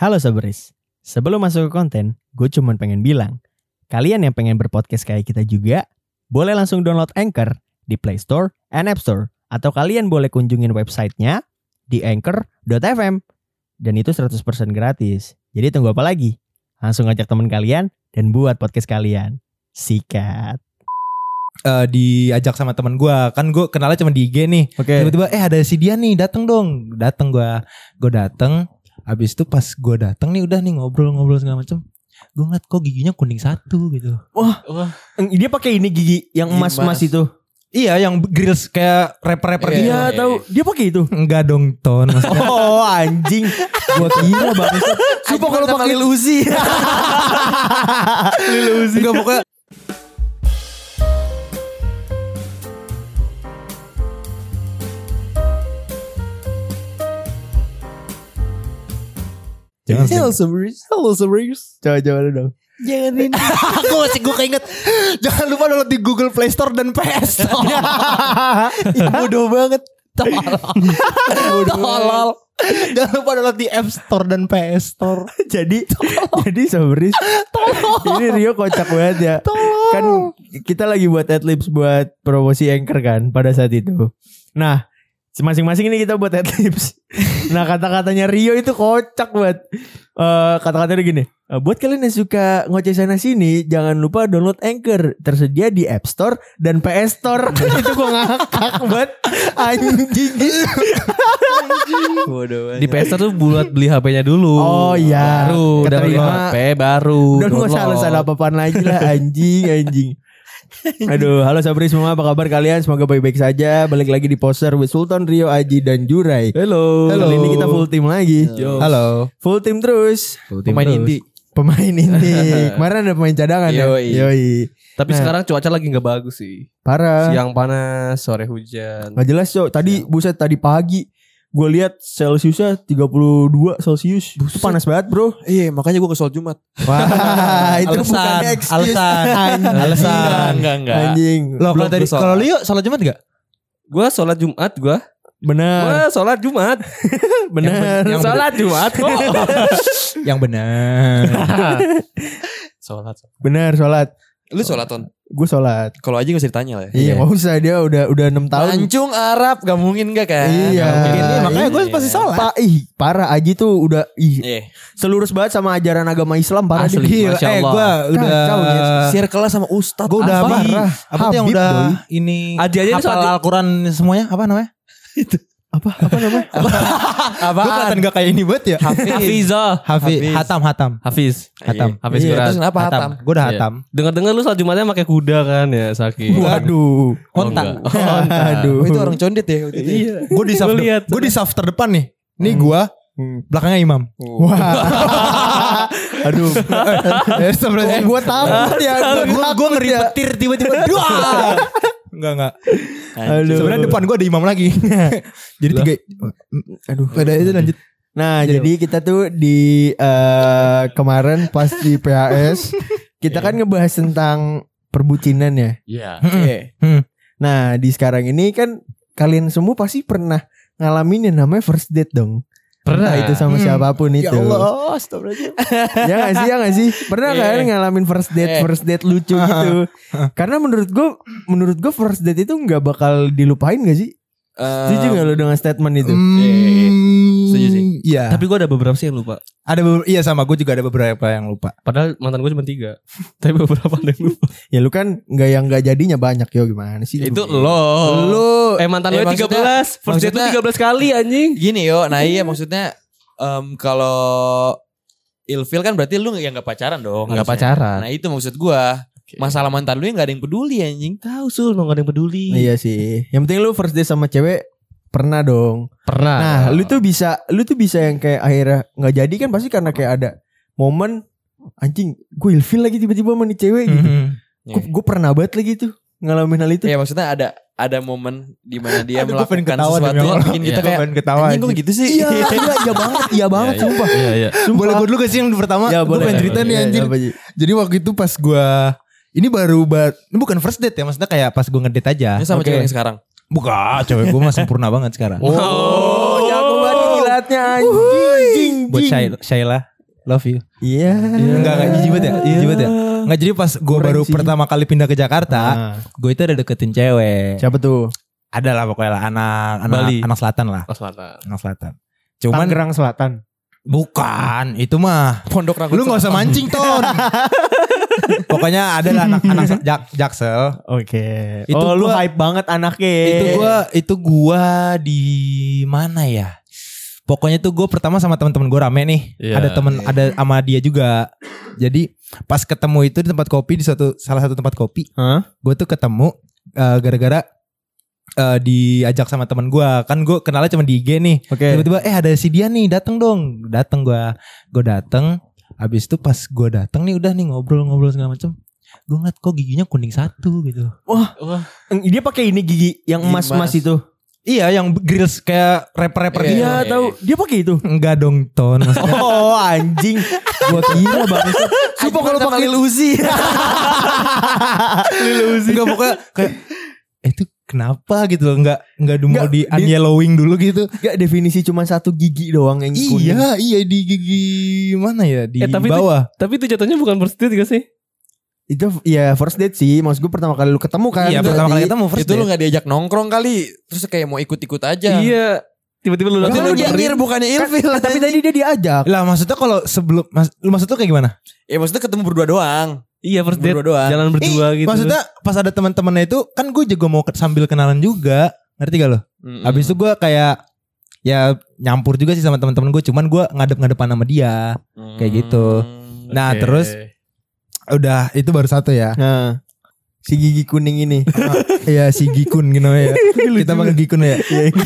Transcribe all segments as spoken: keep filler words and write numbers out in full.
Halo Sabris, sebelum masuk ke konten, gue cuma pengen bilang, kalian yang pengen berpodcast kayak kita juga, boleh langsung download Anchor di Play Store and App Store. Atau kalian boleh kunjungin websitenya di anchor dot f m. Dan itu seratus persen gratis. Jadi tunggu apa lagi? Langsung ajak teman kalian dan buat podcast kalian. Sikat. Uh, diajak sama teman gue, kan gue kenalnya cuma di I G nih. Okay. Tiba-tiba eh ada si dia nih, datang dong, datang gue, gue datang. Abis itu pas gue datang nih udah nih ngobrol-ngobrol segala macam. Gue ngeliat kok giginya kuning satu gitu. Wah, wah. Dia pakai ini gigi yang emas-emas itu. Iya, yang grills kayak rapper-rapper gitu. Iya, tahu. Dia pakai itu. Enggak dong, Ton. Oh, anjing. Gua kira banget. Sumpah kalau pakai Lil Uzi. Lil Uzi. Enggak pokoknya. Jangan Halo Sabris. Halo Sabris. Coba-coba dong. Jangan ini. Aku masih gue keinget. Jangan lupa download di Google Play Store dan P S Store. Bodoh banget. Tolol. Tolol. Jangan lupa download di App Store dan P S Store. Jadi jadi Sabris. Ini Rio kocak banget ya. Tolol. Kan kita lagi buat adlibs buat promosi Anchor kan pada saat itu. Nah, masing-masing ini kita buat adlibs. Nah, kata-katanya Rio itu kocak banget. Uh, kata-katanya gini, buat kalian yang suka ngoceh sana sini, jangan lupa download Anchor, tersedia di App Store dan P S Store. Itu gue ngakak banget. Anjing. Di P S Store tuh buat beli H P-nya dulu. Oh iya. Baru udah beli H P baru. Udah gak salah-salah apa-apaan lagi lah. Anjing Anjing Aduh, halo Sabri semua, apa kabar kalian? Semoga baik-baik saja. Balik lagi di Poser with Sultan, Rio, Aji, dan Jurai. Halo. Kali ini kita full team lagi. Yo. Halo. Full team terus. Full team pemain terus. inti. Pemain inti. Kemarin ada pemain cadangan ya. Yoi. Yoi. Tapi Nah. sekarang cuaca lagi gak bagus sih. Parah. Siang panas, sore hujan. Gak jelas cok. Tadi buset tadi pagi gue lihat Celsiusnya tiga puluh dua Celsius. Itu panas banget bro. Iya, makanya gue ke sholat Jumat. Wah, itu Alasan, bukan excuse. alasan, Anjing. alasan. Enggak, enggak. Anjing. Loh, kalau Belum tadi sholat. kalau Leo sholat Jumat enggak? Gua sholat Jumat gua. Bener. Gua sholat Jumat. Bener. yang Sholat Jumat kok. Yang benar. Sholat. Bener sholat. Lu sholat Ton? Gue sholat. Kalau aja gak usah ditanya lah ya. Iya, gak usah, dia udah udah enam tahun. Mancung Arab gak mungkin gak kan? Iya. Gak mungkin. Iya, makanya gue Iya. pasti sholat. Pa, ih, parah Aji tuh udah ih, Iya. selurus banget sama ajaran agama Islam parah Asli. dia. Gila, Masya eh Allah. gue udah Kacau, Nyet. Circle sama Ustadz. Gue udah Apa? apa? Apa tuh yang Habib, udah doi. ini Aji aja ini hafal sholat- Al-Quran semuanya apa namanya? Apa apa namanya? Gue kelihatan gak kayak ini banget ya. Hafizah. Hafiz, Hafiz. hatam, hatam, Hafiz. hatam. Hafiz Iya, Quran. terus kenapa hatam? Gue udah Iya. hatam. Dengar-dengar lu sholat Jumatnya pakai kuda kan ya, Saki. Waduh. Onta. Oh, enggak. Aduh. Oh, itu orang condit ya waktu itu. Iya. Gue di saf, Gua lihat. gue di saf terdepan nih. Nih gue belakangnya imam. Wah. Aduh. Eh, sebenarnya Gue takut ya. gue gue ngeri petir tiba-tiba. Dua. Enggak enggak. Aduh. Sebenarnya depan gue ada imam lagi. Jadi tiga. Aduh. Pada itu lanjut. Nah, jadi kita tuh di eh, kemarin pas di P H S kita kan ngebahas tentang perbucinan ya. Iya. Iya. Nah, di sekarang ini kan kalian semua pasti pernah ngalamin yang namanya first date dong. Pernah. Entah itu sama Hmm. siapapun itu. Ya Allah, astagfirullahaladzim. Ya gak sih, ya gak sih? Pernah kan ngalamin first date, Eh. first date lucu gitu. Karena menurut gue, menurut gue first date itu gak bakal dilupain gak sih? Setuju gak lo dengan statement itu? Hmm, Setuju sih. Iya. Tapi gue ada beberapa sih yang lupa. Ada beberapa, iya sama gue juga ada beberapa yang lupa. Padahal mantan gue cuma tiga. Tapi beberapa ada yang lupa. Ya lu kan gak yang gak jadinya banyak yo, gimana sih? Itu lo. Lu. Eh mantan Eh, lo tiga belas. First date tuh maksudnya- tiga belas kali anjing. Gini yo, nah iya maksudnya em, kalau ilfil kan berarti lu yang gak pacaran dong. Nggak harusnya. pacaran. Nah itu maksud gua. Masalah mantan lu yang gak ada yang peduli anjing. Tahu sul, nggak ada yang peduli. Iya sih. Yang penting lu first date sama cewek pernah dong. Pernah. Nah, lu tuh bisa, lu tuh bisa yang kayak akhirnya nggak jadi kan pasti karena kayak ada momen anjing, gue ilfil lagi tiba-tiba sama nih cewek gitu. Iya. Gue gue pernah banget lagi tuh ngalamin hal itu. Ya maksudnya ada ada momen di mana dia Aduh, gua pengen melakukan ketawa sesuatu demi yang Allah. bikin kita Iya. kayak pengen ketawa. anjing kok anjing. gitu sih. Iya, iya, iya banget, iya banget, Iya, sumpah. Iya, iya. Boleh gue dulu gak sih yang pertama? Ya, Gue boleh. pengen cerita nih Iya, anjir. apa, Ji? Jadi waktu itu pas gue, ini baru bat, ini bukan first date ya, maksudnya kayak pas gue ngedate aja. Ini sama Oke. cewek yang sekarang. Bukan, cewek gue mah sempurna banget sekarang. Oh, jago banget kilatnya anjing. Buat Shay- Shayla. Love you. Iya. Enggak enggak jijik banget ya? Jijik banget ya? Enggak, jadi pas gue Kurang baru sih. pertama kali pindah ke Jakarta, Nah, gue itu ada deketin cewek. siapa tuh? Ada lah pokoknya lah anak anak Bali. anak selatan lah, Oh, selatan. anak selatan. Cuman Tangerang Selatan. bukan, itu mah Pondok Ranggut. lu nggak usah mancing ton. Pokoknya ada lah anak-anak jak, Jaksel. Oke. Itu oh, lu gua- hype banget anaknya. Itu gua itu gua di mana ya? Pokoknya tuh gue pertama sama teman-teman gue rame nih. Iya. Ada temen ada sama dia juga. Jadi pas ketemu itu di tempat kopi di suatu salah satu tempat kopi. Hah? Gue tuh ketemu uh, gara-gara uh, diajak sama teman gue. Kan gue kenalnya cuma di I G nih. Oke. Tiba-tiba eh ada si dia nih, datang dong. Datang gue, gue datang. Habis itu pas gue datang nih udah nih ngobrol-ngobrol segala macam. Gue ngeliat kok giginya kuning satu gitu. Wah, dia pakai ini gigi yang Gigi emas-emas emas. itu. Iya yang grills kayak rapper-rapper Iya, gitu. Iya, iya, tahu. Dia pakai itu. Enggak dong Ton. Maksudnya, Oh, anjing. Gua kira bangsat. Sumpah kalau pakai Lil Uzi. enggak pokoknya kayak eh itu kenapa gitu loh, enggak enggak mau Enggak, di di- unyellowing dulu gitu. Gak definisi cuma satu gigi doang yang kuning. Iya, iya di gigi mana ya? Di Eh, tapi itu- bawah. Tapi itu jatuhnya bukan first date gak sih? Itu ya first date sih. Maksud gue pertama kali lu ketemu kan. Iya, berarti. pertama kali ketemu first Itu lu date. gak diajak nongkrong kali. Terus kayak mau ikut-ikut aja. Iya. Tiba-tiba lu Berarti datang lu nyamperin. nyengir bukannya ilfil. Kan, tapi tadi dia diajak. Lah maksudnya kalau sebelum mas, lu maksud tuh kayak gimana? Ya maksudnya ketemu berdua doang. Iya first date. Berdua doang. Jalan berdua Eh, gitu. Maksudnya pas ada teman-temannya itu kan gue juga mau ke- sambil kenalan juga. Ngerti gak lo? Mm-mm. Habis itu gue kayak ya nyampur juga sih sama teman-teman gue, cuman gue ngadep-ngadepan sama dia. kayak gitu. Hmm. Nah, Oke. terus udah itu baru satu ya. Nah, si gigi kuning ini. Iya si Gikun gitu ya. Kita panggil Gikun ya.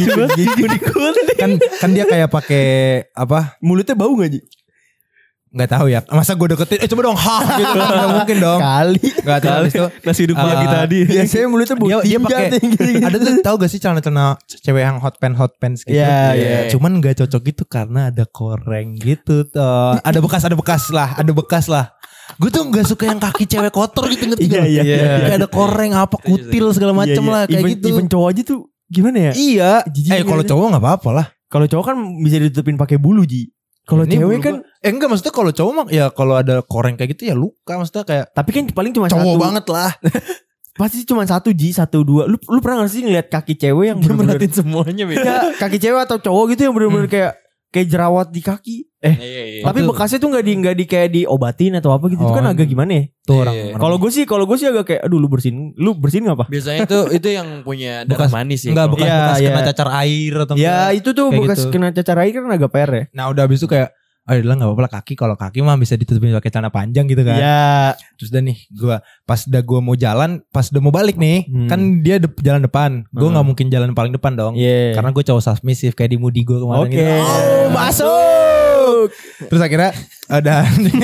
Gikun. Kan kan dia kayak pakai apa? Mulutnya bau gak Ji? Nggak tahu ya. Masa gue deketin eh coba dong ha gitu. Nggak mungkin dong. Kali. Nggak tahu habis itu. Nasi uduk Ah, pagi tadi. Biasanya mulutnya bau Dia, dia tinja pakai tuh yang gitu-gitu. ada tuh tahu gak sih celana-celana cewek yang hot pants hot pants gitu. Iya, iya. Cuman nggak cocok gitu karena ada koreng gitu tuh. Ada bekas ada bekas lah, ada bekas lah. Gue tuh nggak suka yang kaki cewek kotor gitu ngerti Iya, gak? iya, iya. Kayak ada koreng apa kutil segala macem Iya, iya. lah kayak Even- gitu. Even cowok aja tuh gimana ya? Iya. Jijik Eh kalau gitu. cowok nggak apa-apa lah. Kalau cowok kan bisa ditutupin pakai bulu Ji. Kalau Ini cewek bulu kan gua- eh enggak maksudnya kalau cowok mah ya kalau ada koreng kayak gitu ya luka maksudnya kayak tapi kan paling cuma cowok satu. banget lah. Pasti cuma satu Ji, satu dua. Lu lu pernah gak sih ngeliat kaki cewek yang Dia bener-bener merhatiin semuanya beda. ya, kaki cewek atau cowok gitu yang bener-bener kayak kayak jerawat di kaki. Eh, Iya, iya. tapi Itu- bekasnya tuh nggak di nggak di kayak diobatin atau apa gitu. Itu Oh, kan agak gimana ya? Tuh Iya. orang. Kalau gue sih, kalau gue sih agak kayak, aduh lu bersihin, lu bersihin nggak apa? Biasanya itu itu yang punya darah Bekas- manis ya. enggak kalau- bekas Iya, bekas iya. kena cacar air atau Ya enggak. itu tuh Kayak bekas gitu. kena cacar air kan agak P R ya. Nah udah habis itu kayak oh udah nggak apa-apa lah kaki kalau kaki mah bisa ditutupin pakai celana panjang gitu kan. Iya. Terus udah nih gua pas udah gua mau jalan, pas udah mau balik nih, Hmm. kan dia de- jalan depan. Gua Hmm. nggak mungkin jalan paling depan dong. Iya. Karena gue cowok submissive kayak di Moody gue kemarin Oke. gitu. Oh, masuk. Terus akhirnya udah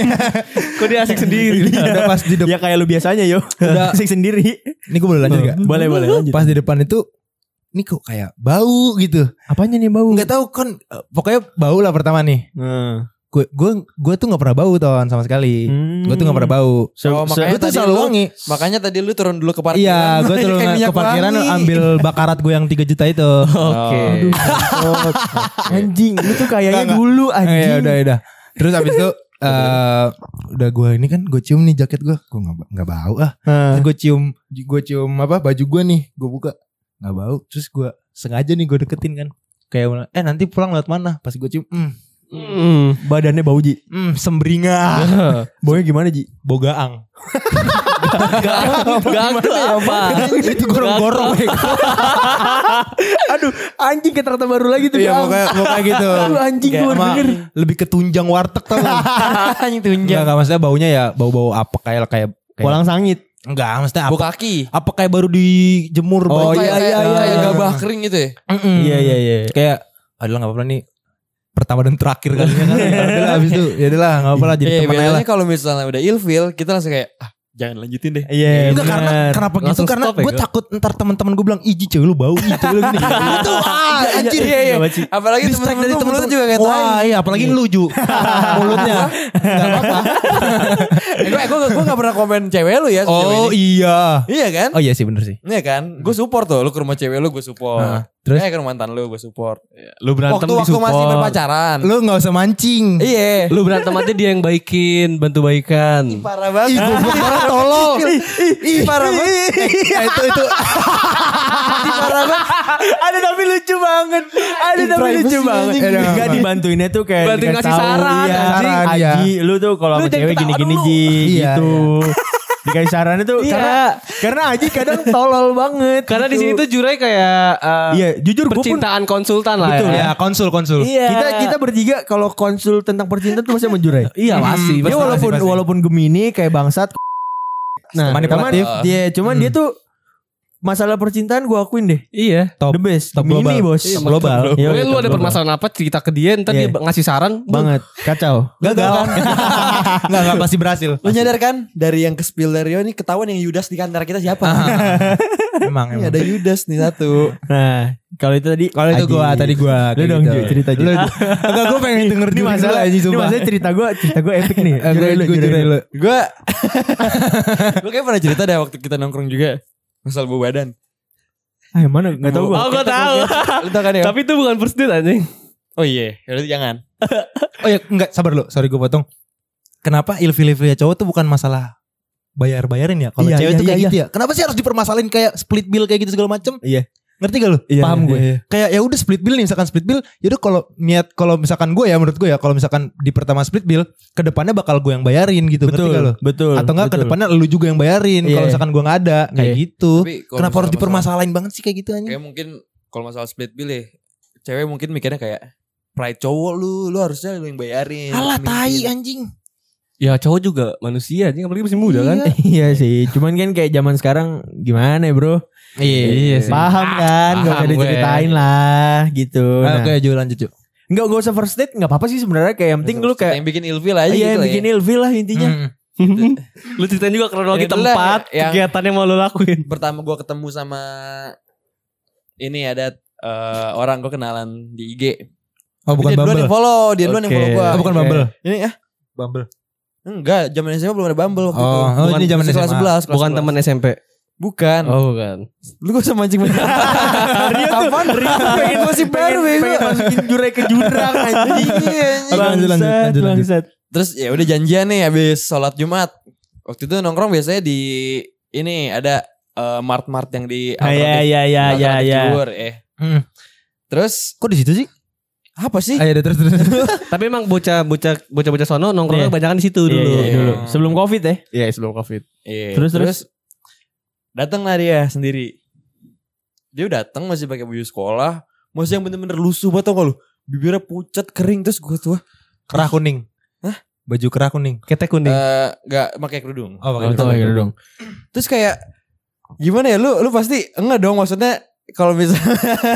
Kok dia asik sendiri. udah pas di depan. Ya kayak lu biasanya yo. Udah. Asik sendiri. Ini gue boleh lanjut gak? Boleh boleh lanjut. Pas di depan itu ini kok kayak bau gitu. Apanya nih bau? Nggak tahu kan eh, pokoknya bau lah pertama nih. Nah. Gue gue gue tuh nggak pernah bau ton sama sekali. Hmm. Gue tuh nggak pernah bau. So, Oh, so- makanya Gue tuh tadi selalu lu- wangi. Makanya tadi lu turun dulu ke parkiran. Iya, gue Kayak turun minyak ke parkiran wangi. ambil bakarat gue yang tiga juta itu. Oke. Aduh, mampus. Anjing, lu tuh kayaknya Enggak, enggak. dulu Eh, anjing. ya udah udah. Terus abis itu eh udah gue ini kan gue cium nih jaket gue, gue nggak nggak bau ah. Nah. Terus gue cium gue cium apa baju gue nih, gue buka nggak bau. Terus gue sengaja nih gue deketin kan. Kayak eh nanti pulang lewat mana? Pas gue cium, hmm, Hmm. Badannya bau Ji. hmm sembringa, Baunya gimana Ji? bogaang. Gang tuh apa? Itu gorong-gorong. Aduh, anjing kata-kata baru lagi tuh. Iya Bang. pokoknya pokoknya gitu. Aduh, anjing Kayak gue baru sama- denger. lebih ke tunjang warteg tau gak? Anjing tunjang. Enggak enggak maksudnya baunya ya bau-bau apa kayak kayak kayak Walang sangit. enggak maksudnya Bau apa kaki. apa kayak baru dijemur Oh, baju. iya, kayak, iya, kayak, iya, kayak iya. gabah kering gitu ya. Mm-mm. Iya iya iya. Kayak adalah enggak apa-apa nih pertama dan terakhir kalinya kan. Adalah habis itu ya udahlah enggak apa-apa lah jadi Iya, teman aja lah. biasanya kalau misalnya udah ilfil, kita langsung kayak ah jangan lanjutin deh. Iya. Enggak karena bener. kenapa gitu Langsung karena stop ya, gue Go? takut ntar teman-teman gue bilang iji cewek lu bau iji cewek lu gini. Itu ah anjir. Iya iya. Gawat sih. Apalagi Distract temen-temen dari lu temen-temen mulut juga kayak tai. wah iya apalagi lu Ju mulutnya Enggak apa-apa. Gue gue gue enggak pernah komen cewek lu ya. sejauh Oh ini. iya. Iya kan? Oh iya sih bener sih. Iya kan? Gue support tuh. Lu ke rumah cewek lu gue support. Nah, terus? Eh ke rumah mantan lu gue support. Lu berantem Waktu waktu disupport. masih berpacaran. Lu gak usah mancing. Iya. Lu berantem aja dia yang baikin, bantu baikan. Parah banget. Ih goblok banget tolol. Ih parah banget. Eh, itu itu Ih parah banget. Ada tapi lucu banget. Ada tapi Privacy lucu banget. anjing. Eh, Enggak dibantuinnya tuh kayak Bantuin dikasih ngasih tahu, saran, iya. anjing. Aji, lu tuh kalau Lu sama jangan cewek ketawa gini-gini dulu. Ji Iya, gitu. Dikasih sarannya tuh Iya. karena karena Aji kadang tolol banget. Karena di gitu. sini tuh Jurai kayak uh, Iya, jujur gue pun percintaan konsultan lah Betul, ya. ya konsul konsul. Iya. kita kita bertiga kalau konsul tentang percintaan tuh masih menjurai. Iya pasti. Dia Pasti, walaupun pasti. walaupun Gemini kayak bangsat. Nah, Manipulatif. cuman dia cuman Hmm. dia tuh masalah percintaan gue akuin deh. Iya. Top. The best. Top Gemini global. bos. Iya, global. Iya, Pokoknya lu top ada global. permasalahan apa cerita ke dia, ntar Iya. dia ngasih saran. Banget. Kacau. Gagal kan? Enggak enggak pasti berhasil. Lu nyadar kan dari yang ke spill dari Rio ini ketahuan yang Yudas di antara kita siapa? Emang Ini emang. ada Yudas nih satu. Nah, kalau itu tadi Kalau itu Aji. gua tadi gua Lu kayak dong gitu. Ju, cerita Ju. Lu enggak gua pengen denger Ini dulu masalah aja ini sumpah. masalah cerita gue cerita gue epic nih. Eh, Jurai lu, gua jurai jurai lu. lu. Gue gue kayak pernah cerita deh waktu kita nongkrong juga masalah bau badan. Ah, yang mana? Gak tau gue. Oh gue tahu. Lu tau kan ya? Tapi itu bukan first date anjing. Oh iya, berarti jangan. Oh ya enggak sabar lu, sorry gua potong. Kenapa ilfil-ilfilnya cowok tuh bukan masalah bayar-bayarin ya? Kalau Iya, cewek iya, tuh kayak iya, gitu ya. Kenapa sih harus dipermasalahin kayak split bill kayak gitu segala macem? Iya. Ngerti gak lu? Iya, Paham iya, gue. iya. Kayak ya udah split bill nih, misalkan split bill, yaudah kalau niat kalau misalkan gue ya menurut gue ya kalau misalkan di pertama split bill, ke depannya bakal gue yang bayarin gitu, ngerti Betul, gak lu? betul. Atau enggak ke betul. depannya lu juga yang bayarin Iya. kalau misalkan gue nggak ada kayak Iya. gitu. Tapi kalau Kenapa harus masalah- dipermasalahin banget sih kayak gitu anjing? Kayak mungkin kalau masalah split bill ya, cewek mungkin mikirnya kayak pride cowok lu, lu harusnya lu yang bayarin. Alah Mungkin. tai anjing. Ya cowok juga manusia anjing, apalagi masih muda kan. Iya sih. Cuman kan kayak zaman sekarang gimana ya bro? Iya sih. Paham kan? Gak usah Paham gue. diceritain lah gitu. Nah, Nah, Oke, Ju lanjut Ju. Enggak gak usah first date, gak apa-apa sih sebenarnya. Kayak yang penting lu kayak yang bikin ilfil aja iya gitu yang lah bikin ya. ilfil lah intinya. Hmm. Lu ceritain juga kronologi Ya itulah, tempat, yang- kegiatan yang mau lu lakuin. Pertama gue ketemu sama ini ada eh, orang gue kenalan di I G. Oh bukan dia duluan Bumble. yang follow, dia duluan yang Oke. follow gue. Oh, bukan Bumble. Ini ah Bumble. enggak, zaman S M P belum ada Bumble waktu Oh, itu. oh, Bukan ini zaman Masih S M A. kelas sebelas, kelas Bukan sebelas. teman S M P. Bukan. Oh bukan. Lu gak usah mancing mancing. Rio tuh Rio tuh pengen gosip baru pengen, pengen masukin jurai ke jurang anjing. Oke, lanjut, lanjut, Bangsat, lanjut, lanjut. bangsat. Terus ya udah janjian nih habis sholat Jumat. Waktu itu nongkrong biasanya di ini ada eh, mart-mart yang di Ah, iya, iya, iya, iya, iya. Ciwur, eh. Hmm. Terus Kok di situ sih? apa sih? Ayo terus terus. Tapi emang bocah bocah bocah bocah sono nongkrongnya Iya. kebanyakan di situ Iya, dulu. iya, Iya. dulu. Sebelum Covid ya. Iya sebelum covid. Iya, Terus, terus? datang lah dia sendiri. Dia datang masih pakai baju sekolah, masih yang bener-bener lusuh banget tau gak lu? Bibirnya pucat kering terus gue tuh Kerah kuning. Hah? Baju kerah kuning. Ketek kuning. eh nggak pakai kerudung. Oh, Oh, itu lagi dong. Terus kayak gimana ya lu lu pasti enggak dong maksudnya kalau misalnya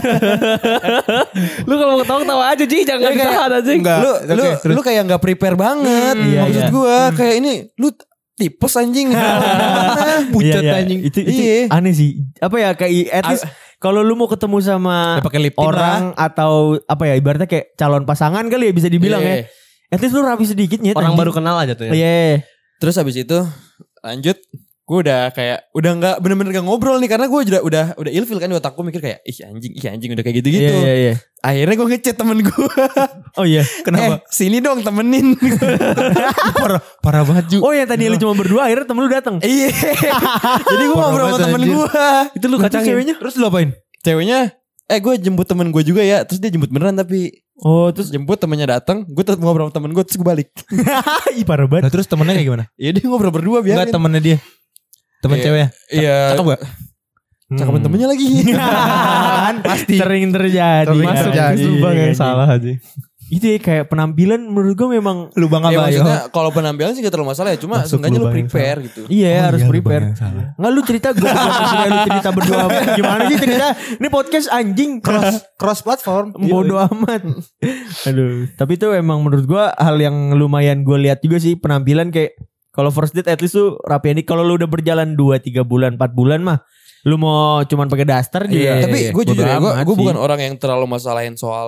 Lu kalau mau ketawa ketawa aja Ji, jangan Ya, kayak- ditahan aja. Enggak. lu Oke, lu terus. lu kayak nggak prepare banget. Hmm, iya, Maksud iya. gua kayak ini lu tipes anjing. Pucat Iya, iya. anjing. Itu, itu Iya. aneh sih. Apa ya kayak at least kalau lu mau ketemu sama Ya, pakai lip tint orang atau apa ya ibaratnya kayak calon pasangan kali ya bisa dibilang Iya. ya. At least lu rapi sedikit nyet. Orang anjing. baru kenal aja tuh ya. Iya. Terus habis itu lanjut gue udah kayak udah nggak bener-bener gak ngobrol nih karena gue udah udah udah ilfil kan di otakku mikir kayak ih anjing ih anjing udah kayak gitu-gitu. Iya, iya, iya. Akhirnya gue ngechat temen gue. Oh iya. Kenapa? Eh, sini dong temenin. parah, parah banget Ju. Oh yang tadi lu cuma berdua akhirnya temen lu datang. Iya. Jadi gue Parah ngobrol sama banget, temen anjir. gue. Itu lu Terus kacangin. ceweknya? Terus lu apain? Ceweknya eh gue jemput temen gue juga ya. Terus dia jemput beneran tapi Oh terus terus jemput temennya datang. Gue tetap ngobrol sama temen gue terus gue balik. ih parah banget. Nah, terus temennya kayak gimana? Ya dia ngobrol berdua Enggak biarin. temennya dia. Temen Iya. ceweknya. Iya. Cakep gak? Cakapan temennya lagi. Kan pasti. Sering terjadi. Sering Masuk terjadi. lubang yang Iya, salah aja. Itu ya kayak penampilan menurut gue memang Lubang Ya apa ya? maksudnya kalau penampilan sih gak terlalu masalah ya. Cuma Masuk seenggaknya lu lubang yang prepare gitu. iya Oh, harus iya, prepare. lubang yang salah. Nggak lu cerita gue maksudnya lu cerita berdua gimana sih cerita? Ini podcast anjing Cross cross platform. bodoh amat. Aduh, tapi itu emang menurut gua hal yang lumayan gue lihat juga sih penampilan kayak kalau first date at least tuh rapi ini kalau lu udah berjalan dua tiga bulan empat bulan mah lu mau cuman pakai daster juga. Iya, Tapi iya, gue jujur ya, gue bodo amat gue sih. bukan orang yang terlalu masalahin soal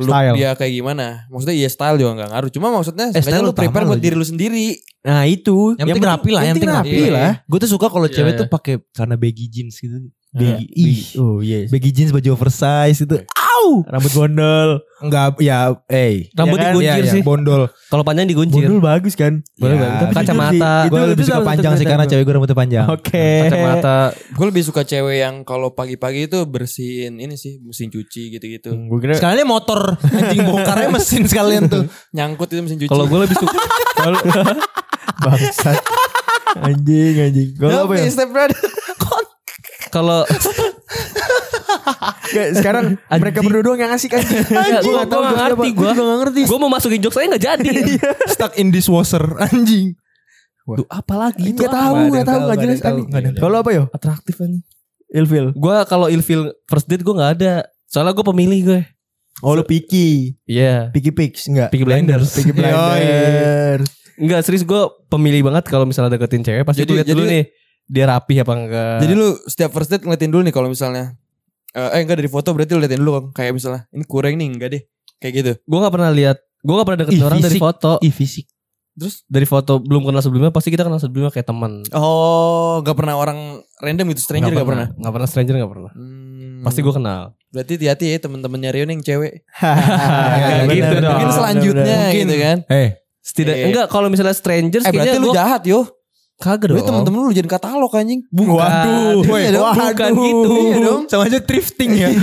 look Style. dia kayak gimana. Maksudnya iya style juga gak ngaruh. Cuma maksudnya Eh, style lu utama prepare loh, buat diri lu sendiri. Nah itu. Yang penting rapi lah, yang penting rapi rapi. lah. Gue tuh suka kalau Iya, cewek iya. tuh pakai celana baggy jeans gitu. Baggy. Ih, Oh yes. baggy jeans baju oversize itu. Au. Rambut bondol. Enggak, ya, eh. Rambut Ya kan? diguncir Iya, iya, sih. bondol. Kalau panjang diguncir. Bondol bagus kan? Boleh, Ya, Bang. tapi Kacamata. jujur sih, Gue itu- lebih itu suka salah satu panjang sih kriteria karena gua. cewek gue rambutnya panjang. Oke. Kacamata. Gue lebih suka cewek yang kalau pagi-pagi itu bersihin ini sih, mesin cuci gitu-gitu. Gue kira Sekalian motor anjing bongkarnya mesin sekalian tuh. Nyangkut itu mesin cuci. Kalau gue lebih suka bangsat. Anjing anjing. Kalau apa ya? step brother. kalau Nggak, sekarang mereka berdua doang yang asik anjing. Gue Gua gak ngerti. Gue gak ngerti. Gue mau masukin jokes saya gak jadi. Stuck in dishwasher anjing. Tuh apa lagi? Gak tahu, gak tahu, gak jelas anjing. Kalau apa yo? Atraktif anjing. Ilfil. Gue kalau ilfil first date gue gak ada. Soalnya gue pemilih gue. Oh lu picky. Iya. Picky pics enggak? Peaky Blinders. Picky Blinders. Enggak serius gue pemilih banget kalau misalnya deketin cewek. Pasti Jadi- gue liat dulu jadi- nih. Dia rapi apa enggak. Jadi lu setiap first date ngeliatin dulu nih kalau misalnya eh eh, enggak dari foto berarti lu liatin dulu kan. Kayak misalnya ini kurang nih enggak deh. Kayak gitu. gue gak pernah lihat. Gue gak pernah deketin Ih, orang dari fisik. foto. Ih fisik. Terus Dari foto belum kenal sebelumnya. Pasti kita kenal sebelumnya kayak teman. oh, enggak pernah orang random gitu, stranger enggak pernah. Gak pernah stranger gak pernah. Hmm, Pasti gue kenal. Berarti hati-hati ya temen-temennya Rio nih yang cewek. Kayak gitu dong. Mungkin selanjutnya Mungkin. gitu kan. Eh, Setidak Eh. enggak kalau misalnya strangers Eh berarti kayaknya lu gue jahat yo. kagak Berarti dong. temen-temen lu jadi katalog anjing. Waduh. Iya dong. Bukan gitu. Iya dong. sama aja thrifting ya.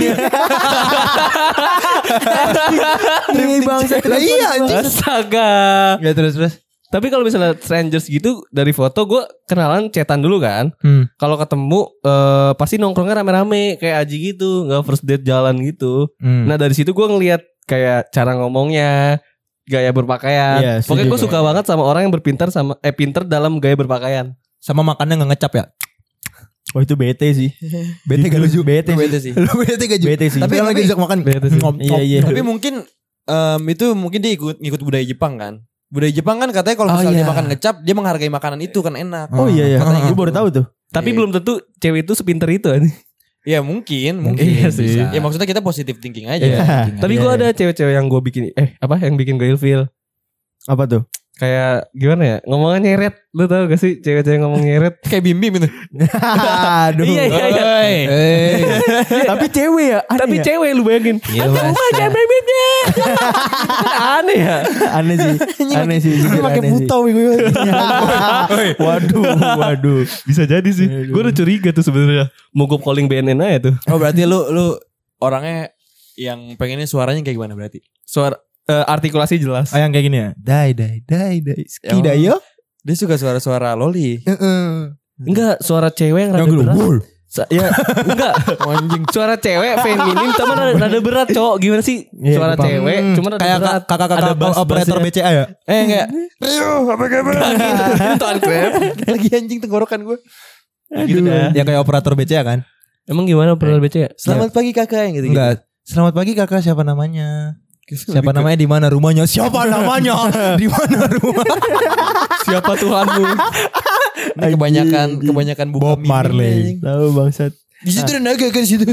Ini bangsa. Lah iya anjing. Astaga. Ya terus terus. Tapi kalau misalnya strangers gitu dari foto gue kenalan chatan dulu kan. Hmm. Kalau ketemu eh, pasti nongkrongnya rame-rame kayak Aji gitu, nggak first date jalan gitu. Hmm. Nah dari situ gue ngelihat kayak cara ngomongnya, gaya berpakaian. Iya, Pokoknya setuju. gue suka banget sama orang yang berpintar sama eh pinter dalam gaya berpakaian. Sama makannya nggak ngecap ya? Oh itu bete sih. Bete gak lucu. Bete Itu sih. beda sih. Lu bete gak Bete sih. Tapi kalau lagi tapi- diajak makan. Bete sih. ngom- Iya, ngom- iya. Tapi mungkin em, itu mungkin dia ikut ngikut budaya Jepang kan. Budaya Jepang kan katanya kalau Oh, misalnya iya. dia makan ngecap, dia menghargai makanan itu kan enak. Oh iya iya. Katanya Gue gitu. baru tahu tuh. Tapi Iya. belum tentu cewek itu sepinter itu. Ya mungkin, mungkin. Iya sih. Bisa. Ya maksudnya kita positive thinking aja. Iya. Tapi Iya, gue iya. ada cewek-cewek yang gue bikin eh apa yang bikin gue ilfeel. Apa tuh? Kayak gimana ya? Ngomongnya nyeret. Lu tau gak sih cewek-cewek ngomong nyeret? Kayak Bim Bim itu. Aduh. Iya, iya, iya. Oi. Eh. Tapi cewek ya. Aneh Tapi ya? cewek lu bayangin. Iya, Aduh, Mas. mah jangan bebeknya. Aneh ya. Aneh sih. Aneh sih. jujur Pakai aneh sih. putau gue. Waduh, waduh. Bisa jadi sih. Aduh. Gue udah curiga tuh sebenarnya. Mau gue calling B N N aja tuh. Oh berarti lu lu orangnya yang pengennya suaranya kayak gimana berarti? Suara eh, artikulasi jelas. Oh yang kayak gini ya. Dai dai dai dai. Ya, Skida yo. Dia suka suara-suara loli. Enggak, suara cewek yang rada Yang gue berat. wul. Sa- ya, enggak. Anjing. Suara cewek feminim tapi rada, rada berat, cowok. Gimana sih? Iya, Suara gue paham. cewek cuma rada Kayak berat. kakak-kakak Ada bass- operator bassnya. B C A ya. Eh enggak. Rio, apa kabar? Tuan Krep. Lagi anjing tenggorokan gue. Gitu dah. Ya kayak operator B C A kan. Emang gimana pernah B C ya? Selamat pagi kakak yang gitu. Enggak. Selamat pagi kakak, siapa namanya? Siapa namanya, di mana rumahnya? Siapa namanya? Di mana rumah? Siapa Tuhanmu? Ini kebanyakan kebanyakan buka Bob miming, Marley. anjing. Tahu bangsat. Di situ ada naga kan di situ.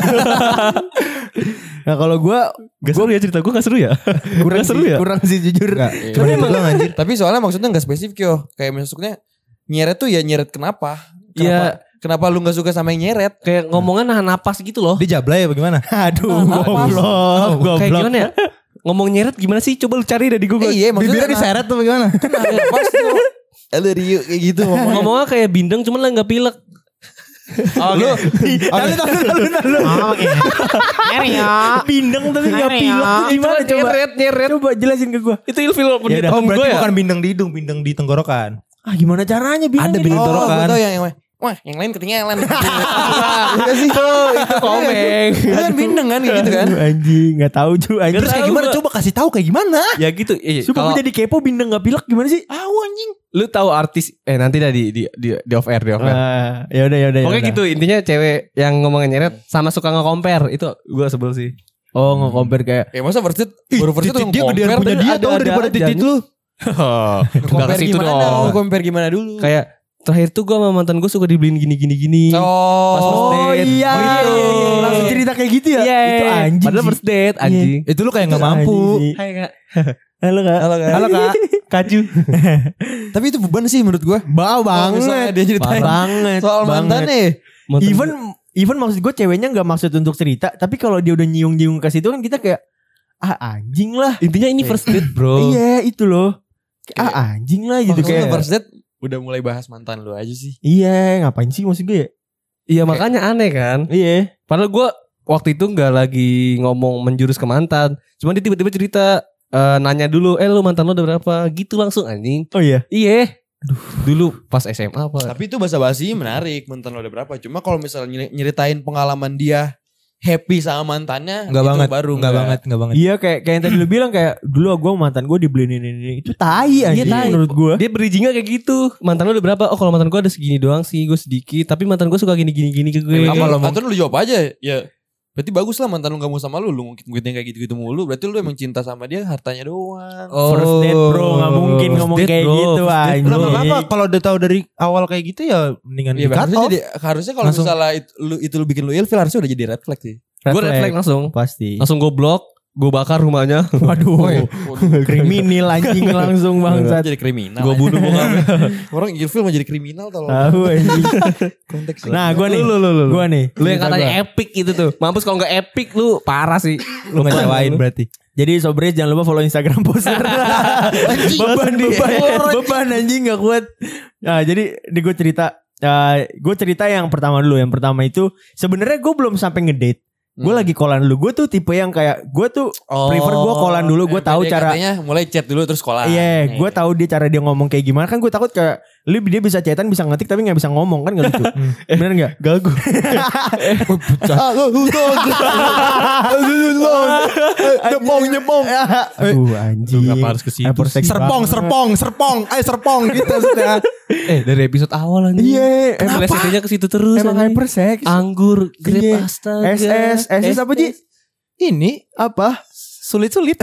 Nah kalau gue Gak seru ya cerita gue, gak seru ya? kurang Gak seru sih, ya? kurang sih jujur. Enggak. Iya. Cuma itu doang anjir. Tapi soalnya maksudnya gak spesifik yo. Kayak maksudnya nyeret tuh ya nyeret kenapa? Iya. Kenapa, kenapa lu gak suka sama yang nyeret? Kayak ngomongnya nahan napas gitu loh. Dia jablay apa gimana? Aduh, Nah, goblok, goblok. Kayak gimana ya? Ngomong nyeret gimana sih? Coba lu cari deh di Google. Eh, iya maksudnya Bibirnya diseret tuh bagaimana? Pas tuh. Elu Rio kayak gitu ngomongnya. Ngomongnya kayak bindeng cuman lah gak pilek. Lu Tahu tahu tahu tahu. Bindeng tapi nggak pilek tuh gimana coba? Nyeret, nyeret. Coba jelasin ke gue. Itu ilfil walaupun Ya di udah. Oh tahun gue berarti ya. bukan bindeng di hidung, bindeng di tenggorokan. Ah gimana caranya bindeng? Ada ini? bindeng Oh, tenggorokan. gue tau yang, yang wah yang lain ketinggalan. Iya sih. Oh, itu komeng. Itu kan bindeng kan gitu kan. Aduh, anjing nggak tahu cuy. Anjing. Terus kayak tahu gimana? gua. Coba kasih tahu kayak gimana? Ya gitu. Iya, Sumpah kalau gue jadi kepo bindeng nggak pilek gimana sih? Ah anjing. lu tahu artis eh nanti dah di di di, di off air, di off air. Ah, ya udah ya udah. Pokoknya gitu intinya cewek yang ngomongin nyeret sama suka nge-compare itu gue sebel sih. Oh nge-compare kayak Ya masa first date baru first date Dia gedean punya tadi dia ada- tau ada daripada aja titit nih. lu. Enggak ke compare situ gimana? dong. Compare gimana dulu? Kayak terakhir tuh gue sama mantan gue suka dibeliin gini-gini gini. Oh, Pas first Oh date. iya, Oh, iya, gitu. iya, iya. Langsung cerita kayak gitu ya. Iya. Itu anjing. Padahal sih. first date anjing. Itu lu kayak gak Itu mampu. anjing sih. Hai kak. Halo kak. Halo, Kak. Halo kak. Kaju. Tapi itu beban sih menurut gue. Bau misalnya banget. dia ceritain banget. soal mantan banget. nih. Mantan Even even maksud gue ceweknya nggak maksud untuk cerita, tapi kalau dia udah nyiung-nyiung ke situ kan kita kayak ah anjing lah. intinya ini first date bro. Iya itu loh. Kayak, ah anjing lah gitu Maksudnya kayak. first date udah mulai bahas mantan lu aja sih. Iya ngapain sih maksud gue ya? Iya makanya aneh kan. Iya. Padahal gue waktu itu nggak lagi ngomong menjurus ke mantan. Cuma dia tiba-tiba cerita eh, nanya dulu, eh lu mantan lu udah berapa? Gitu langsung anjing. Oh iya. Iya. Dulu pas S M A apa? Tapi itu basa-basi menarik, mantan lo ada berapa. Cuma kalau misalnya nyeri- nyeritain pengalaman dia happy sama mantannya, Enggak itu banget. baru Enggak banget, enggak banget. Iya kayak kayak yang tadi lu bilang kayak dulu gue mantan gue dibeliin ini, ini itu tai aja tai. menurut gue. Dia bridgingnya kayak gitu. Mantan lu udah berapa? Oh kalau mantan gue ada segini doang sih, gue sedikit. Tapi mantan gue suka gini-gini gini ke gue. Apa Kalau lo mau- atau lu jawab aja ya. Berarti bagus lah mantan lu gak mau sama lu. Lu mungkin duitnya kayak gitu-gitu mulu. Berarti lu emang cinta sama dia hartanya doang. Oh. First date bro nggak mungkin First ngomong date, kayak bro. gitu First date, anjing. Enggak apa-apa kalau udah tahu dari awal kayak gitu ya mendingan Iya di cut harusnya off. jadi harusnya kalau Langsung. misalnya itu lu, itu lu bikin lu ilfil harusnya udah jadi red flag sih. Gue red flag langsung. Pasti. Langsung gue blok. Gue bakar rumahnya. Waduh. Kriminal anjing langsung bangsat. Jadi kriminal. Gue bunuh bokapnya. Orang ilfil mau jadi kriminal tau. Tahu anjing. Konteks. Nah gue nih. Lu, lu, lu, lu. Gue nih. Lu yang cerita katanya gua. epic itu tuh. Mampus kalau gak epic lu parah sih. Lu ngecewain berarti. Jadi Sobres jangan lupa follow Instagram poster. beban beban beban anjing gak kuat. Nah jadi ini gue cerita. Uh, gue cerita yang pertama dulu. Yang pertama itu sebenarnya gue belum sampai ngedate. Gue Hmm. lagi callan dulu. Gue tuh tipe yang kayak gue tuh Oh, prefer gue callan dulu. Gue tahu cara. Katanya mulai chat dulu terus sekolah. Iya, gue tahu dia cara dia ngomong kayak gimana. Kan gue takut kayak lu dia bisa chatan bisa ngetik tapi nggak bisa ngomong kan nggak lucu. Bener nggak? Gagu. Nyepong nyepong. Aduh anjing. Kenapa harus ke situ Hyperseks sih? Serpong, banget. serpong, serpong, ayo serpong gitu maksudnya. Eh dari episode awal anjing. Iya, Eh emang melesetnya ke situ terus. emang anjing. hypersex. Anggur, grape Iya. astaga. S S, S S apa Ji? Ini Apa? sulit-sulit.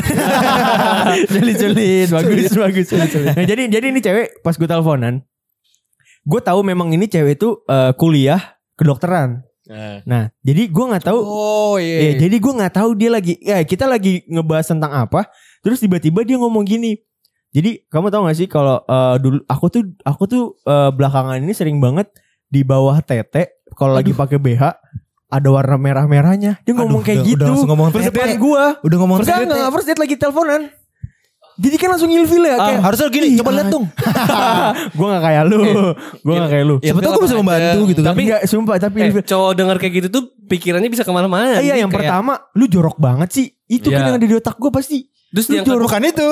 Sulit-sulit, bagus bagus. Nah, jadi jadi ini cewek pas gue teleponan, gue tahu memang ini cewek itu eh, kuliah kedokteran. Nah. Nah, jadi gue nggak tahu. Oh Eh, iya. jadi gue nggak tahu dia lagi. Ya kita lagi ngebahas tentang apa. Terus tiba-tiba dia ngomong gini. Jadi kamu tahu gak sih kalau eh, dulu aku tuh aku tuh eh, belakangan ini sering banget di bawah tete kalau lagi pakai B H ada warna merah-merahnya. Dia ngomong Aduh, kayak udah- gitu. udah langsung ngomong First tete. date gue. Udah ngomong Enggak, tete. enggak, first date lagi teleponan. Jadi kan langsung ilfil ya kayak Harusnya gini, Ih, coba lihat dong. gue gak kayak lu. Gue gak kayak lu. Iya, Siapa tahu gue bisa membantu gitu kan. Tapi enggak sumpah tapi Eh, ilfil. cowok denger kayak gitu tuh pikirannya bisa kemana-mana. Iya Jadi yang kayak- pertama lu jorok banget sih. Itu kan Iya. yang ada di otak gue pasti. Terus Lu yang jorok. Bukan itu.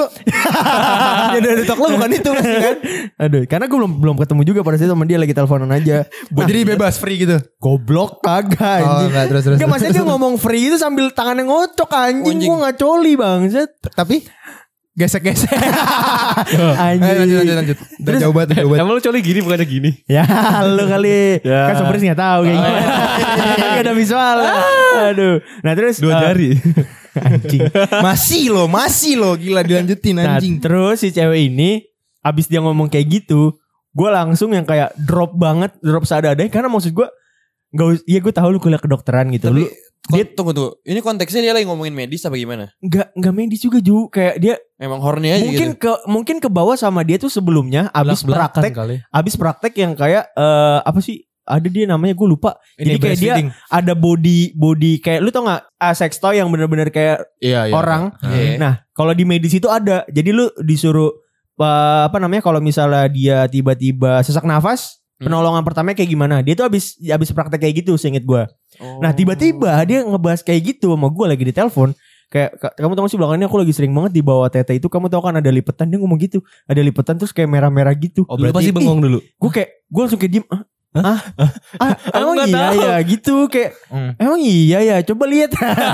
Yang dari tok lo bukan itu pasti kan. Aduh, karena gue belum belum ketemu juga pada saat itu sama dia lagi teleponan aja. Jadi bebas free gitu. Goblok kagak Oh, anjing. enggak terus terus. Enggak maksudnya dia ngomong free itu sambil tangannya ngocok anjing. Anjing. Gue gak coli banget. Tapi gesek-gesek. Anjing. Ayo lanjut lanjut lanjut. Udah jauh banget, jauh banget. Emang lu coli gini bukannya gini? Ya lu kali. Ya. Kan Sobres gak tahu kayak gimana. Gak ada visual. Aduh. Nah terus Dua eh, jari. Anjing. Masih lo, masih lo gila dilanjutin Nah anjing. terus si cewek ini abis dia ngomong kayak gitu, gue langsung yang kayak drop banget, drop seadanya. Karena maksud gue nggak, us- iya gue tahu lu kuliah kedokteran gitu. Tapi Lu dia tunggu tuh. Ini konteksnya dia lagi ngomongin medis apa gimana? nggak nggak medis juga Ju. Kayak dia Memang horny aja mungkin gitu. ke mungkin ke bawah sama dia tuh sebelumnya abis Belak-belakan praktek, kali. abis praktek yang kayak eh, apa sih? Ada dia namanya gue lupa. Jadi kayak dia ada body body kayak lu tau nggak ah, sex toy yang bener-bener kayak Iya, iya. orang. Iya. Nah, kalau di medis itu ada. Jadi lu disuruh uh, apa namanya kalau misalnya dia tiba-tiba sesak nafas, Hmm. penolongan pertamanya kayak gimana? Dia tuh habis habis praktek kayak gitu, seinget gua. Oh. Nah, tiba-tiba dia ngebahas kayak gitu sama gua lagi di telepon. Kayak "Kak, kamu tahu gak sih belakangan ini aku lagi sering banget di bawah tete itu, kamu tahu kan ada lipetan." Dia ngomong gitu. Ada lipetan terus kayak merah-merah gitu. Oh, berarti pasti bengong dulu. Gue kayak gue langsung kayak diem. "Ah, Ah, emang nggak iya tahu. ya gitu kayak Hmm. emang iya ya coba lihat.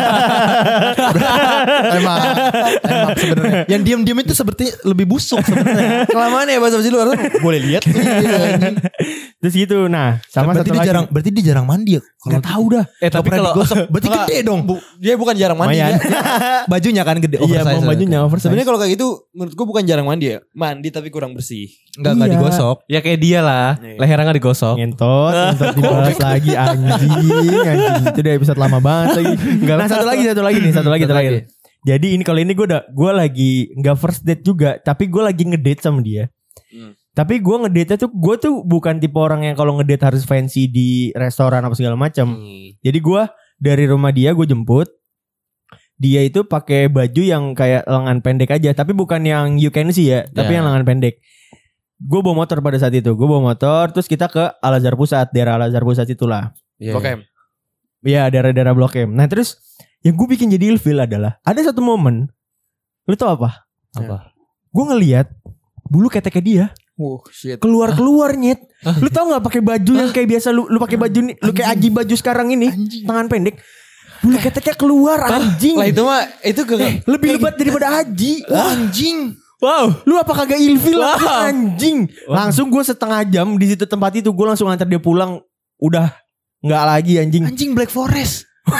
Emang, emang sebenarnya. Yang diam-diam itu seperti lebih busuk sebenarnya. Kelamaan ya bahasa lu harus boleh lihat. Terus gitu. Nah, sama berarti satu dia lagi. jarang, berarti dia jarang mandi ya. Nggak tahu dah. Eh tapi kalau berarti Enggak, gede dong. Bu- dia bukan jarang mandi Lumayan. ya. Bajunya kan gede. Iya, mau bajunya oversize. Sebenarnya kalau kayak gitu menurut gua bukan jarang mandi ya. Mandi tapi kurang bersih. enggak enggak Iya. digosok. ya kayak dia lah, Iya. lehernya nggak digosok. ngentot, ngentot dibahas lagi anjing, anjing. Itu udah episode lama banget lagi. Nah, satu lagi, satu lagi nih, satu lagi Satu terakhir. lagi. Jadi ini kalau ini gue udah gue lagi nggak first date juga, tapi gue lagi ngedate sama dia. Hmm. Tapi gue ngedate tuh gue tuh bukan tipe orang yang kalau ngedate harus fancy di restoran apa segala macam. Hmm. Jadi gue dari rumah dia gue jemput. Dia itu pakai baju yang kayak lengan pendek aja, tapi bukan yang you can see ya, tapi Ya. yang lengan pendek. Gue bawa motor pada saat itu, gue bawa motor, terus kita ke Al Azhar Pusat, daerah Al Azhar Pusat itulah. Iya. Blok M. Iya, daerah-daerah Blok M. Nah terus yang gue bikin jadi ilfil adalah ada satu momen, lu tau apa? Apa? Gue ngelihat bulu keteknya dia Oh shit. keluar-keluar nyet. Lu tau nggak pakai baju yang kayak biasa lu lu pakai baju nih, lu kayak aji baju sekarang ini, tangan pendek. Bulu keteknya keluar anjing. Lah itu mah itu ke Eh, lebih lebat daripada Aji. Anjing. Wow, lu apa kagak ilfil lah, anjing. Langsung gue setengah jam di situ tempat itu, gue langsung antar dia pulang. Udah nggak lagi anjing. Anjing Black Forest.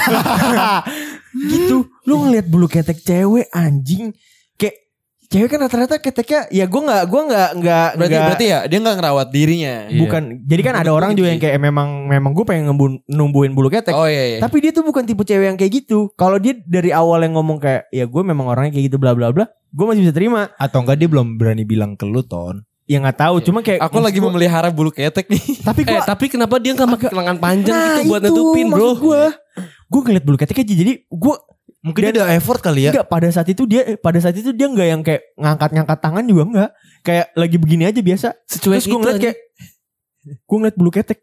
Gitu. Lu ngeliat bulu ketek cewek anjing. Kayak cewek kan rata-rata keteknya ya gue nggak gue nggak nggak berarti nggak- berarti ya dia nggak ngerawat dirinya. Iya. bukan. Jadi kan ada orang juga yang kayak memang memang gue pengen ngebun, numbuhin bulu ketek. Oh iya iya. Tapi dia tuh bukan tipe cewek yang kayak gitu. Kalau dia dari awal yang ngomong kayak ya gue memang orangnya kayak gitu bla bla bla, gue masih bisa terima. Atau enggak dia belum berani bilang ke lu, Ton. Ya nggak tahu, cuma kayak Aku lagi memelihara bulu ketek nih. tapi Eh gue tapi kenapa dia nggak pakai lengan panjang Nah, gitu buat itu nutupin bro? maksud gue. Gue ngeliat bulu ketek aja. Jadi gue Mungkin dia ada effort kali ya. enggak pada saat itu dia pada saat itu dia enggak yang kayak ngangkat-ngangkat tangan juga enggak. Kayak lagi begini aja biasa. Secuek Terus gue itu ngeliat aja. kayak gue ngeliat bulu ketek.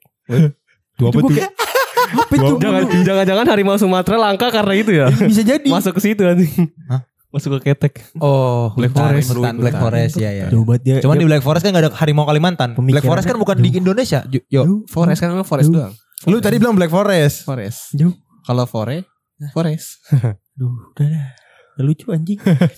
Tuh Itu gue kayak apa itu? Jangan, jangan-jangan harimau Sumatera langka karena itu ya. Bisa jadi. Masuk ke situ nanti. Hah? Masuk ke ketek. Oh, Black hutan, Forest. hutan, Black Hutan. Forest ya ya. Jauh banget dia. Cuman dia- di Black Forest kan gak ada harimau Kalimantan. Black Pemikirannya Forest kan bukan di Indonesia. Yo, yo. Forest kan memang forest doang. Lu tadi bilang Black Forest. Forest. Jauh. Kalau fore, forest. Duh, udah dah. Udah lucu anjing.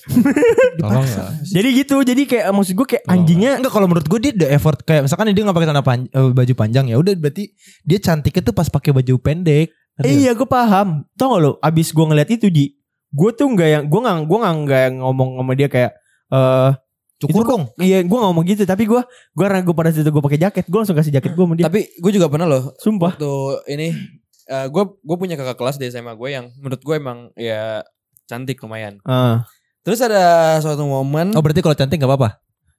Tolong ya. Jadi gitu. Jadi kayak maksud gue kayak anjingnya Enggak, kalau menurut gue dia ada effort, kayak misalkan dia nggak pakai celana pan- eh, baju panjang, ya udah berarti dia cantiknya tuh pas pakai baju pendek. Eh, iya gue paham. Tau gak lo abis gue ngeliat itu Ji, gue tuh gak yang gue gak gue gak, gak yang ngomong sama dia kayak eh Cukur itu kok- dong. Iya gue gak ngomong gitu. Tapi gue gue karena gue pada saat itu gue pakai jaket, gue langsung kasih jaket gue sama dia. Tapi gue juga pernah loh Sumpah. waktu ini gue gue punya kakak kelas di S M A gue yang menurut gue emang ya cantik lumayan. Ah. Terus ada suatu momen. Oh berarti kalau cantik gak apa-apa?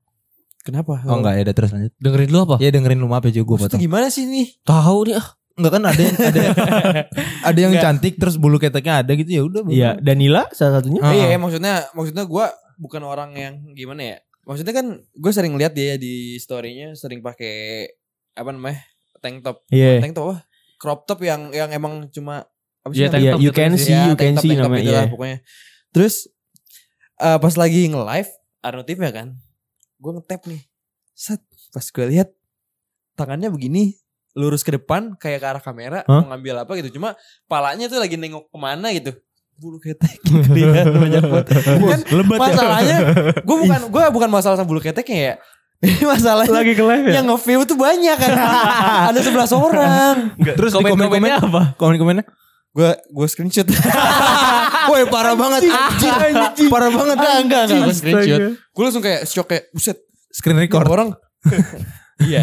Kenapa? Oh enggak ya, udah terus lanjut. Dengerin dulu apa? Ya dengerin lu, maaf ya juga gue Maksudnya potong. gimana sih nih? Tahu nih ah. Enggak kan ada yang ada ada yang Enggak. cantik terus bulu keteknya ada gitu, ya udah. Iya, Danila salah satunya. Ah. Iya, maksudnya maksudnya gue bukan orang yang gimana ya? Maksudnya kan gue sering lihat dia di story-nya sering pakai apa namanya? Tank top. Iya. Tank top apa? Crop top yang yang emang cuma apa sih Iya, tank Iya, top you gitu can sih. see, Ya, you tank can top, see tank top namanya. itulah Iya. pokoknya. Terus eh, pas lagi nge-live ada notifnya kan. Gue nge-tap nih. Set, pas gue lihat tangannya begini lurus ke depan kayak ke arah kamera Hah? mau ngambil apa gitu. Cuma palanya tuh lagi nengok kemana gitu. Bulu ketek kelihatan banyak banget. Kan Lebat ya. masalahnya gue bukan gue bukan masalah sama bulu keteknya ya. Ini masalahnya Lagi ke live ya. yang nge-view tuh banyak kan. Ada sebelas orang. Terus di Komen-komennya komen-komen apa? komen-komennya. Gue gue screenshot. Woi parah banget anjing. Parah banget. Enggak enggak enggak gue Anjing. screenshot. Gue langsung kayak shock kayak buset. Screen record. Orang iya.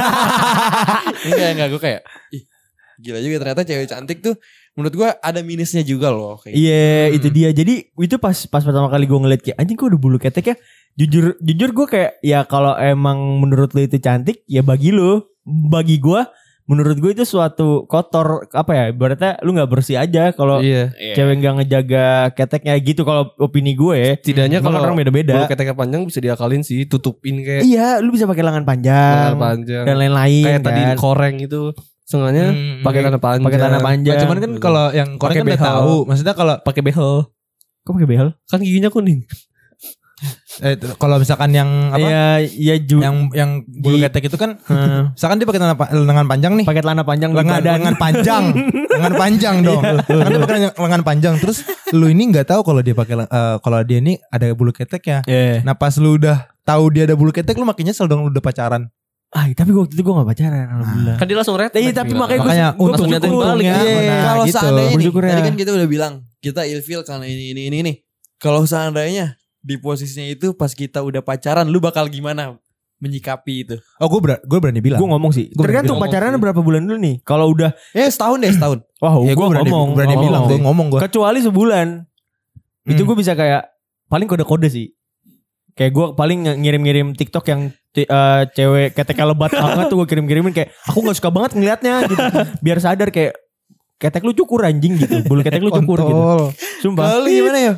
Enggak enggak gue kayak ih, gila juga ternyata cewek cantik tuh menurut gue ada minusnya juga loh kayak. Iya, Hmm. itu dia. Jadi itu pas pas pertama kali gue ngeliat kayak anjing kok udah bulu ketek ya. Jujur jujur gue kayak ya kalau emang menurut lo itu cantik ya bagi lo. Bagi gue menurut gue itu suatu kotor apa ya? Ibaratnya lu nggak bersih aja kalau Iya. Iya. cewek nggak ngejaga keteknya gitu kalau opini gue. Setidaknya Emang kalau orang beda-beda. bulu keteknya panjang bisa diakalin sih, tutupin kayak Iya, lu bisa pakai lengan panjang, lengan panjang. dan lain-lain Kayak kan. tadi di koreng itu. Sengaja Hmm, pakai tanah panjang. pakai tanah panjang. Nah, cuman kan kalau yang koreng Pakai kan udah behel. tahu. Maksudnya kalau pakai behel. Kok pakai behel? Kan giginya kuning. Eh, kalau misalkan yang apa? Iya, iya ju. Yang yang bulu Ji- ketek itu kan, Heeh. misalkan dia pakai lengan, pa- lengan panjang nih. pakai celana panjang di lengan badan. lengan panjang, lengan panjang dong. Kan dia pakai lengan panjang. Terus lu ini nggak tahu kalau dia pakai eh, kalau dia ini ada bulu keteknya. Iya. Nah pas lu udah tahu dia ada bulu ketek, lu makin nyesel dong lu udah pacaran. Ah, tapi waktu itu gue gak pacaran, alhamdulillah. Kan dia langsung red. Iya, tapi makanya gue Makanya gue untung liatin balik. ya. Iya. Nah, Kalau gitu. seandainya nih, Bersyukur ya. tadi kan kita udah bilang kita ilfil karena ini ini ini nih. Kalau seandainya di posisinya itu pas kita udah pacaran, lu bakal gimana menyikapi itu? Oh gue ber gue berani bilang. Gue ngomong sih. Gua Tergantung berani pacarannya ngomong berapa bulan dulu nih. Kalau udah, Ya setahun deh setahun. wah, Ya, gue gue berani, ngomong, berani ngomong. bilang, gue ngomong gue. Kecuali sebulan, itu Hmm. gue bisa kayak paling kode-kode sih. Kayak gue paling nge- ngirim-ngirim TikTok yang ti- eh, cewek ketek lebat banget tuh gue kirim-kirimin kayak aku nggak suka banget ngelihatnya gitu. Biar sadar kayak ketek lu cukur anjing gitu, bulu ketek lu cukur gitu. Kontol. Sumpah. Kalau lu gimana ya?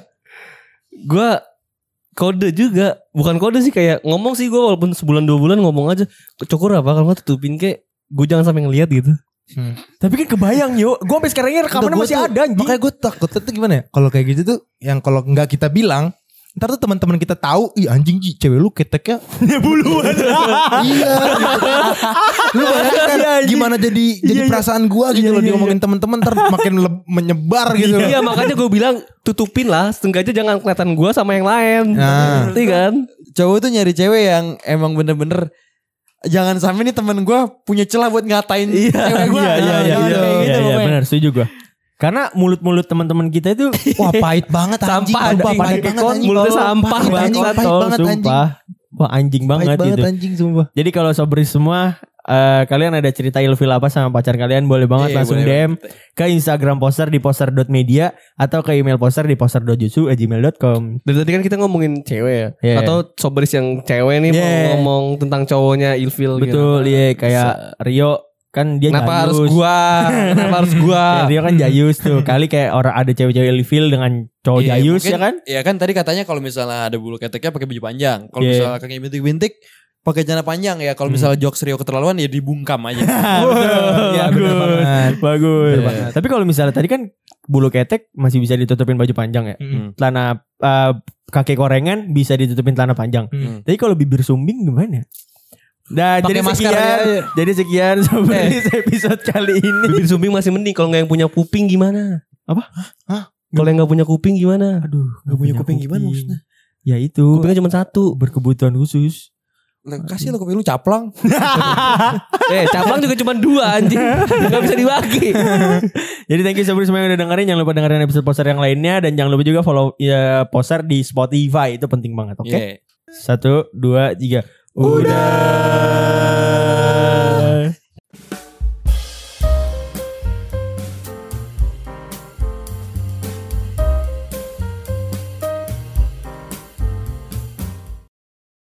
Gue kode juga, bukan kode sih, kayak ngomong sih gue walaupun sebulan dua bulan ngomong aja. Cukur apa kalau nggak tutupin kayak gue jangan sampai ngelihat gitu. Hmm. Tapi kan kebayang yuk, gue sampai sekarang ini rekamannya Gua masih tuh- ada anjing. Makanya gue takutnya tuh gimana ya? Kalau kayak gitu tuh, yang kalau nggak kita bilang, ntar tuh teman-teman kita tahu, ih anjing Ji, cewek lu keteknya buluan. iya. Gitu. Lu bayangkan Iya, anjing. gimana jadi jadi Iya, iya. perasaan gua gitu Iya, loh iya, diomongin teman-teman ntar makin le- menyebar gitu. Iya makanya gue bilang tutupin lah, setengahnya jangan kelihatan gue sama yang lain. Nah. Ngerti kan? Cowok tuh nyari cewek yang emang bener-bener jangan sampai nih temen gue punya celah buat ngatain cewek gue. Iya, iya, iya, Kayak iya, gitu iya, iya, pokoknya. benar, setuju gue. Karena mulut-mulut teman-teman kita itu Wah pahit banget anjing. Sampah, Sumpah, anjing. pahit Kayak banget kon- anjing. mulutnya sampah Pahit banget, anjing, pahit tol, banget anjing. sumpah. Wah anjing banget, Pahit banget gitu. anjing sumpah. Jadi kalau sobri semua eh, kalian ada cerita ilfil apa sama pacar kalian boleh banget Iya, langsung boleh D M ke Instagram poster di poster dot media atau ke email poster di poster dot jutsu at gmail dot com. Dari tadi kan kita ngomongin cewek ya, Yeah. atau sobris yang cewek nih Yeah. mau ngomong tentang cowoknya ilfil. Betul, gitu. iya kayak Rio kan dia Kenapa harus jayus. gua? Kenapa harus gua? Kayak Rio kan jayus tuh. Kali kayak orang ada cewek-cewek ilfil dengan cowok Iya, jayus mungkin- ya kan? Iya kan tadi katanya kalau misalnya ada bulu keteknya pakai baju panjang. Kalau Iya. misalnya kayak bintik-bintik pakai celana panjang ya. Kalau misalnya jokes Rio keterlaluan ya dibungkam aja. Betul, Iya, bener banget. bagus. Bener banget. Tapi kalau misalnya tadi kan bulu ketek masih bisa ditutupin baju panjang ya. Hmm. Celana eh, kaki korengan bisa ditutupin celana panjang. Hmm. Tapi kalau bibir sumbing gimana? Nah, Pakai jadi masker sekian, ya. jadi sekian seperti episode kali ini. Bibir sumbing masih mending. Kalau nggak yang punya kuping gimana? Apa? Hah? Kalau yang nggak punya kuping gimana? Aduh, Gak punya kuping gimana maksudnya? Ya itu, Kupingnya cuma satu. berkebutuhan khusus. Lah, kasih lo kuping lu caplang. Eh, cabang juga cuma dua anjing. Gak bisa dibagi. Jadi thank you semua yang udah dengerin. Jangan lupa dengerin episode poster yang lainnya. Dan jangan lupa juga follow ya, poster di Spotify. Itu penting banget, oke? Iya. Satu, dua, tiga. Udah.